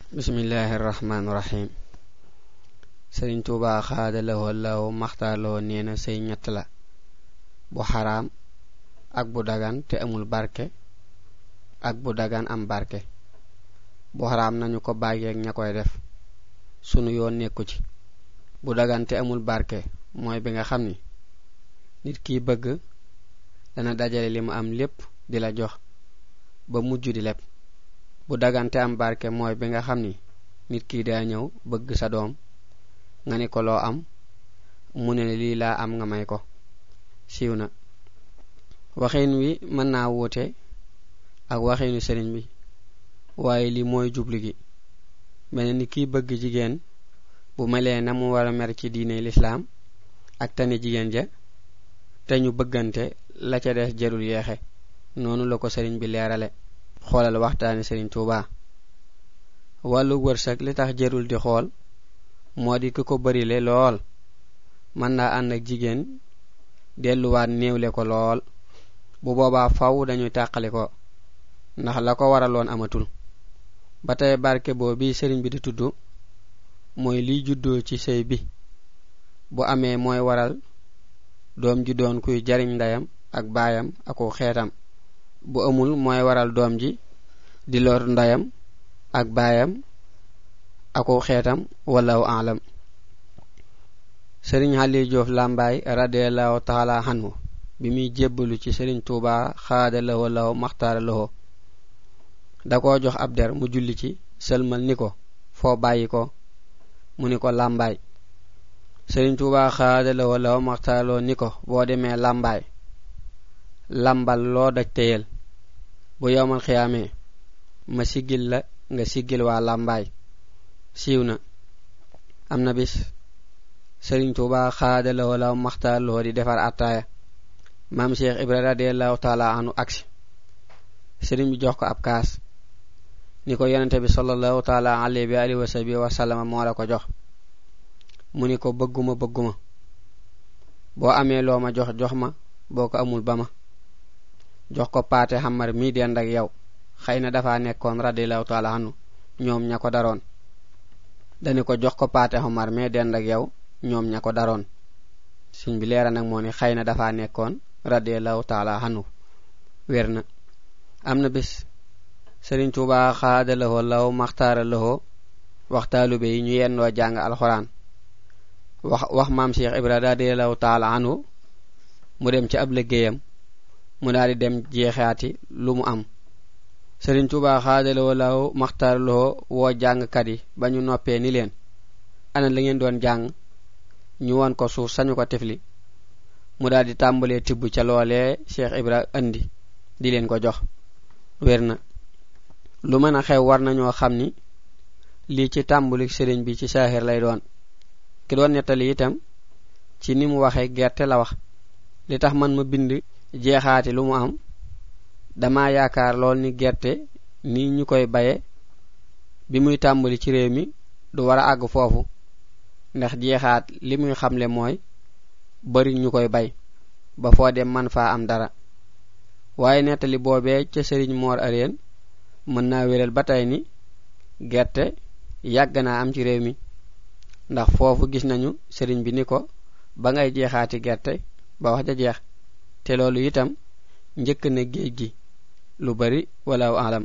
bismillahir rahmanir rahim. Serigne Touba xaadalawoo law maxtaaloo neena sey ñett la bu haram ak bu dagan te amul barke ak bu dagan am barke. Bu haram nañu ko bàyyi ak ñakoy def sunu yoon nekku ci. Bu dagan te amul barke mooy bi nga xamni nit ki bëgg dana dajale limu am lépp di la jox ba mujju di lepp. Bu dagan te am barke mooy bi nga xamni nit ki da ñëw bëgg sa doom nga ni ko loo am mu ne lii laa am nga may ko. siiw na waxin wi mën naa woote ak waxinu sëriñ bi waaye li mooy jublu gi mel ni ki bëgg jigéen bu melee na mu war a mer ci diine l'islam ak tane jigéen ja te ñu bëggante la ca des jarul yeexe noonu la ko sëriñ bi leerale. xoolal waxtaani Serigne Touba. wàllu wërsëg li tax jarul di xool moo di ko barile lool mën naa ànd ak jigéen delluwaat néewle ko lool bu boobaa faw dañuy tàqali ko ndax la ko waraloon amatul. ba tey barke boobu sëriñ bi di tudd mooy liy juddoo ci sëy bi bu amee mooy waral doom ji doon kuy jariñ ndayam ak baayam ak xeetam. bu amul mooy waral doom ji di lor ndayam ak baayam ak xeetam wallahu a'lam. Serigne Ali Diouf Lambaye radiyallahu ta'ala anhu bi muy jébbalu ci Serigne Touba xaadalawoo law maxtaaralawoo da ko jox ab der mu julli ci sëlmal ni ko foo bàyyi ko mu ni ko Lambaye. Serigne Touba xaadalawoo law maxtaaralawoo ni ko boo demee Lambaye lambal loo daj teyel bu yowmal xiyaamee ma sigil la nga sigil waa Lambaye. siiw na am na bis Serigne Touba xaadalawoo law maxtaaralawoo di defar attaaya maam Cheikh Ibra radiyallahu ta'ala anhu aksi Serigne bi jox ko ab kaas ni ko yonente bi sallallahu ta'ala alayhi wa sallam moo la ko jox. mu ni ko bëgguma boo amee loo ma jox jox ma boo ko amul ba ma. jox ko paate xamar mi dend ak yow xëy na dafa nekkoon radiyallahu ta'ala anhu ñoom ña ko daroon. dani ko jox ko paate xamar mi dend ak yow ñoom ña ko daroon. suñ bi leera nag moo ni xëy na dafa nekkoon radiyallahu ta'ala anhu. wér na am na bis Serigne Touba xaadalawoo law maxtaaralawoo waxtaalu be yi ñu yendoo jàng alxuraan wax maam Cheikh Ibra radiyallahu ta'ala anhu mu dem ci ab liggéeyam mu daal di dem jeexaati lu mu am. Serigne Touba xaadalawoo law maxtaaralawoo woo jàngkat yi ba ñu noppee ni leen ana la ngeen doon jàng ñu won ko suuf sañu ko tifli mu daal di tàmbalee tibb ca loolee Cheikh Ibra andi di leen ko jox. wér na lu mën a xew war nañoo xam ni lii ci tàmbalik sëriñ bi ci saaxir lay doon. ki doon nettali itam ci ni mu waxee gerte la wax. li tax man ma bind jeexaati lu mu am dama yaakaar lool ni gerte ni ñu koy baye bi muy tàmbali ci réew mi du war a àgg foofu ndax jeexaat li muy xamle mooy bari ñu koy bay ba foo dem man faa am dara. waaye nettali boobee ca sëriñ Mor Areen mën naa wéral ba tey ni gerte yàgg naa am ci réew mi ndax foofu gis nañu sëriñ bi ni ko ba ngay jeexaati gerte ba wax ja jeex te loolu itam njëkk na géej gi lu bari walaaw alam.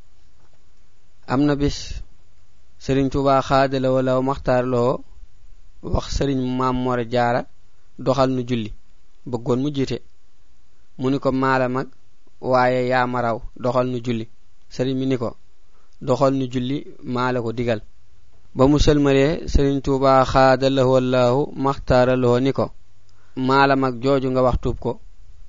am na bis Serigne Touba xaadalawoo law maxtaaralawoo wax Serigne Maam Mor Jaara doxal nu julli bëggoon mu jiite mu ni ko maala mag waaye yaa ma raw doxal nu julli. Serigne mi ni ko doxal nu julli maa la ko digal. ba mu sëlmalee Serigne Touba xaadalawoo law maxtaaralawoo ni ko maala mag jooju nga wax tuub ko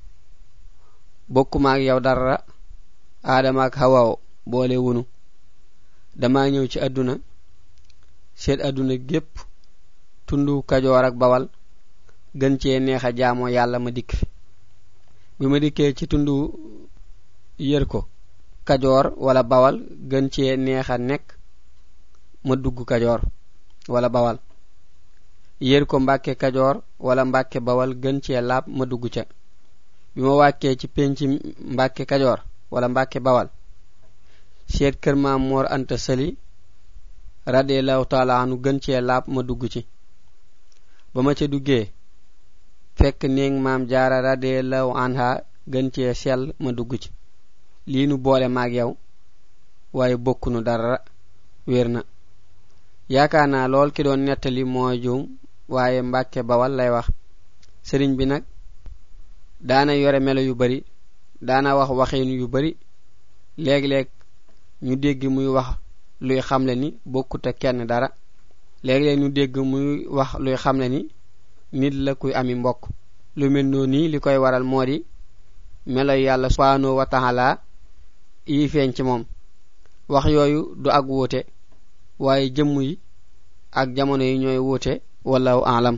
bokkuma ak yow dara Aadama ak Hawa boole wunu dama ñëw ci àdduna seet àdduna gépp tundu Kajoor ak Bawal gën cee neex a jaamoo yàlla ma dikk. bi ma dikkee ci tundu yër ko Kajoor wala Bawal gën cee neex a nekk ma dugg Kajoor wala Bawal. yër ko Mbàkke Kajoor wala Mbàkke Bawal gën cee laab ma dugg ca. bi ma wàccee ci penci Mbàkke Kajoor wala Mbàkke Bawal seet kër Maam Mor Anta Sali radiyallahu ta'ala anu gën ci laab ma dugg ci bama ca duggé fekk neeng maam jaara radiyallahu anha gën ci sel ma dugg ci li nu boole maag yow waye bokkunu dara wërna yaakaana lool ki doon netali moo juum waye Mbàkke Bawal lay wax sëriñ bi nak daana yore melo yu bari daana wax waxin yu bari leg ñu dégg muy wax luy xamle ni bokkut ak kenn dara leg ñu dégg muy wax luy xamle ni nit la kuy ami mbokk lu mel noni likoy waral modi melo yalla subhanahu wa ta'ala yi feñ ci mom wax yoyu du ak wote waye jëm yi ak jamono yi ñoy wote wallahu a'lam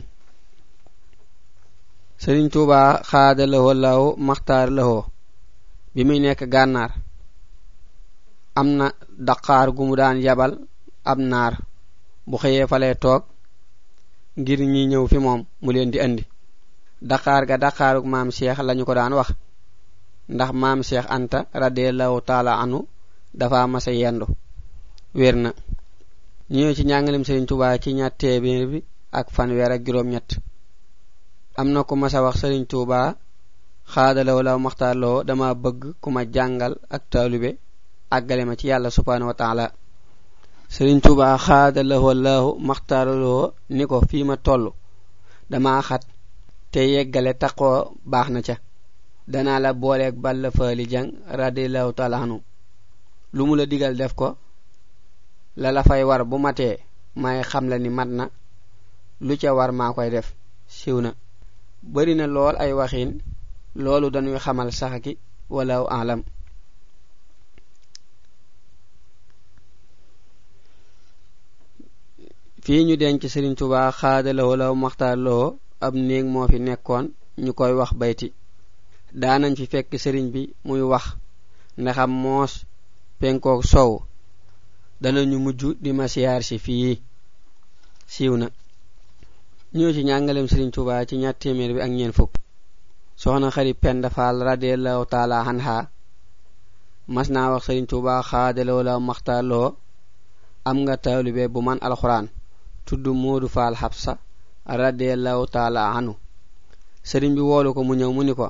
Serigne Touba khadalahu wallahu makhtar lahu bi muy nek gannar amna Dakar gu mu daan yabal ab nar bu xeye falé tok ngir ñi ñew fi mom mu leen di andi Dakar ga Dakaruk maam Cheikh lañu ko daan wax ndax maam Cheikh Anta radiyallahu ta'ala anhu dafa massa yendu werna ñew ci ñangalem Serigne Touba ci ñaat téeméer bi ak fanweer ak juroom ñett amna ko massa wax Serigne Touba khadalahu la makhtarlo dama bëgg kuma jangal ak talibé agale ma ci yalla subhanahu wa ta'ala Serigne Touba khadalahu wallahu makhtarlo niko fi ma tollu dama xat te yeggale taqo baxna ca dana la boole ak balla faali jang radiyallahu ta'ala anhu lu mu la digal def ko la fay war bu maté may xam la ni matna lu ca war ma koy def siwna bari na lool ay waxin loolu dañuy xamal saxaki wala a'lam fi ñu denc Serigne Touba khadalahu law makhtarlo ab neeg mo fi nekkon ñukoy wax bayti daanañ fi fekk serigne bi muy wax ndaxam moos penkook sow danañu mujju di ma siyaar ci fi siiwna ñoo ci ñangalem Serigne Touba ci ñaat téeméer bi ak ñeen fukk soxna Xari Penda Fall radiyallahu ta'ala anha masna wax Serigne Touba khadalahu law makhtarlo am nga talibé bu man alquran tuddu Modou Fall Habsa radiyallahu ta'ala anhu serigne bi wolu ko mu ñew mu ni ko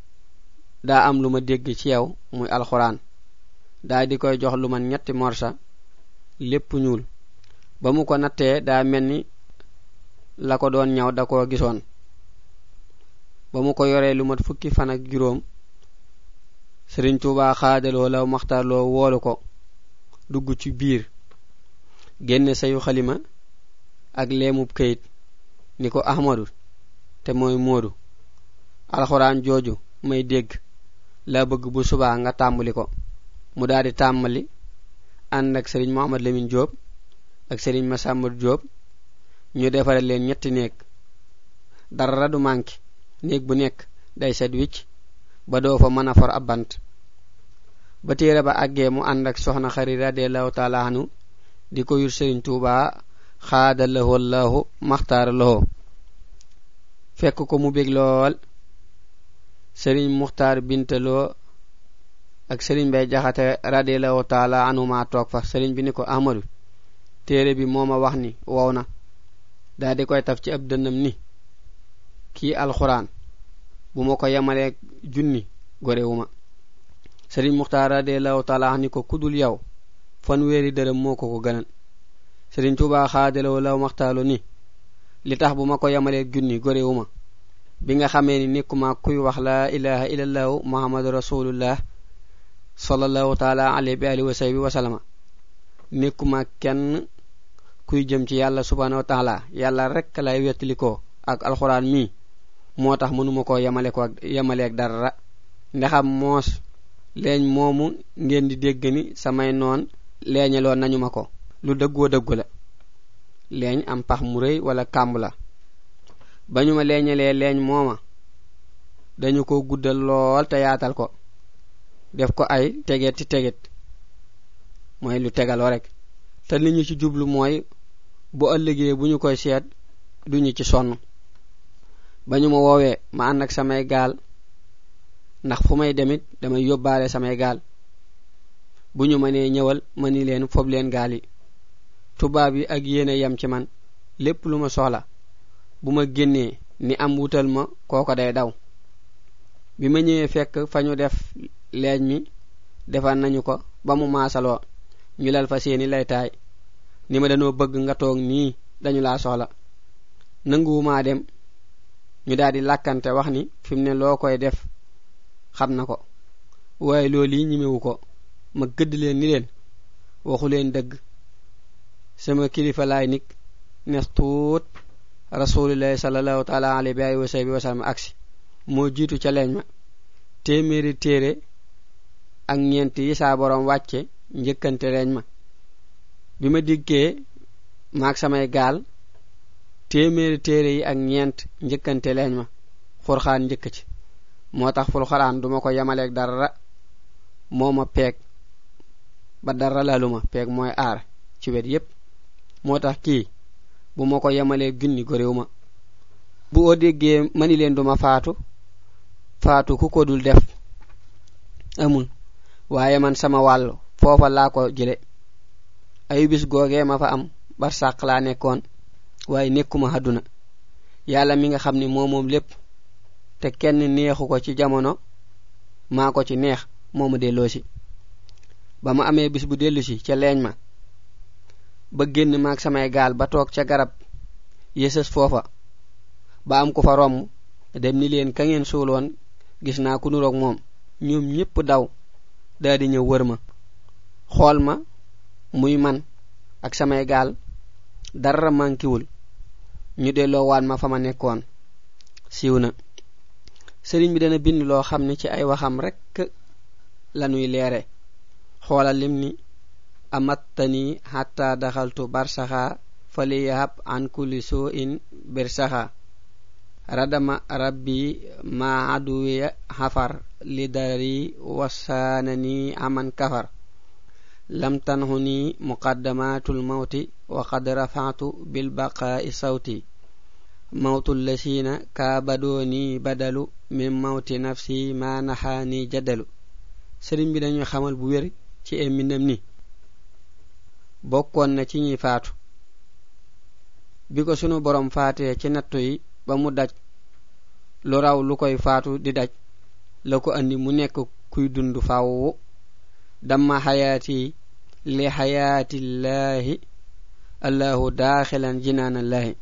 da am luma dégg ci yow muy alquran da di koy jox luma ñetti morsa lepp ñuul ba mu ko naté da melni la ko doon ñaw da ko gisoon ba mu ko yoré lu mat fukki fan ak juroom Serigne Touba khadalo law makhtarlo wolu ko dugg ci biir génné sayu xalima ak lemub kayit niko Ahmadu te moy Modou alquran joju may dégg la bëgg bu suba nga tambali ko mu daadi tambali and ak Serigne Mohammed Lamine Diop ak Serigne Massamba Diop ñu défaral leen ñetti neek dara du manki neek bu nek day set wicc ba do fa mëna for abant ba téré ba aggé mu and ak soxna Xari radiyallahu ta'ala anhu diko yur Serigne Touba khadalahu wallahu makhtar lahu fekk ko mu bég lool Serigne Muxtar Bintalo ak Serigne Bay Jaxate radiyallahu ta'ala anhu ma tok fa Serigne bi niko Ahmadu téré bi moma wax ni wowna da di koy taf ci ab dënnam ni ki alquran bu mako yamale junni gorewuma Serigne Muxtar radiyallahu ta'ala anhu ko kudul yaw fanweeri dërëm moko ko gënal Serigne Touba khadalahu law makhtalu ni li tax bu mako yamale junni gorewuma bi nga xamé ni nekuma kuy wax la ilaha illallah muhammadur rasulullah sallallahu ta'ala alayhi wa sallam wa sallama nekuma kenn kuy jëm ci yalla subhanahu wa ta'ala yalla rek lay wetliko ak alquran mi motax mënuma ko yamale ak dara ndaxam mos leñ momu ngeen di dégg ni samay non leñalo nañu mako lu deggo la leñ am pax mu reuy wala kamb la bañuma leñalé leñ moma dañu ko guddal lool te yaatal ko def ko ay teget moy lu tegalo rek te liñu ci jublu moy bu ëllëgé buñu koy sét duñu ci sonn bañuma wowe ma and ak samay gal ndax fumay demit damay yobale samay gal buñu mané ñëwal mani leen fob leen gal yi tubaab yi ak yéene yam ci man lépp lu ma soxla bu ma génnee ni am wutal ma kooko day daw bi ma ñëwee fekk fa ñu def leej mi defal nañu ko ba mu maasaloo ñu lal fa seeni laytaay ni ma dañoo bëgg nga toog nii dañu laa soxla nanguwumaa dem ñu daldi làkkante wax ni fi mu ne loo koy def xam na ko waaye loolu yi ñimewu ko ma gëdd leen ni leen waxu leen dëgg sama kilifa laay nik nes tuut rasulillahi sallallahu taala alayhi wa sallam aksi moo jiitu ca leeñ ma téeméeri téere ak ñeent yi saa borom wàcce njëkkante leeñ ma bi ma dikkee maak samay gaal téeméeri téere yi ak ñeent njëkkante leeñ ma xurxaan njëkk ci moo tax ful xaraan duma ko yamaleeg dara moo ma peeg ba dara laluma peeg mooy aar ci wet yépp moo tax kii bu ma ko yamalee gunni ko réew ma bu o déggee mani leen duma faatu ku ko dul def amul waaye man sama wàll foofa laa ko jële ay bis googee ma fa am bar sàq laa nekkoon waaye nekkuma àdduna yàlla mi nga xam ni moom lépp te kenn neexu ko ci jamono maa ko ci neex moomu delloosi ba ma amee bis bu dellusi ca leeñ ma ba génn maak samay gaal ba toog ca garab yësës foofa ba am ku fa romb dem ni leen ka ngeen suuloon gis naa ku nuroog moom ñoom ñépp daw daldi ñëw wër ma xool ma muy man ak samay gaal dara mankiwul ñu delloo waan ma fa ma nekkoon siiw na sëriñ bi dana bind loo xam ne ci ay waxam rekk lanuy leere xoolal lim ni amattani hatta daxaltu barsaxa faliyahab an kulli su'in birsaxa radama rabbi ma aduwiya xafar lidari wasanani aman kafar lam tanhuni muqaddamatul mawti wa qad rafa'tu bil baqa'i sawti mawtul lasina kabadoni badalu min mawti nafsi ma nahani jadalu sëriñ bi dañu xamal bu wér ci ay mbindam ni bokkoon na ci ñi faatu bi ko sunu borom faatee ci nattu yi ba mu daj lu raw lu koy faatu di daj la ko andi mu nekk kuy dund faaw damma hayati li hayati llahi allahu dakhilan jinanallahi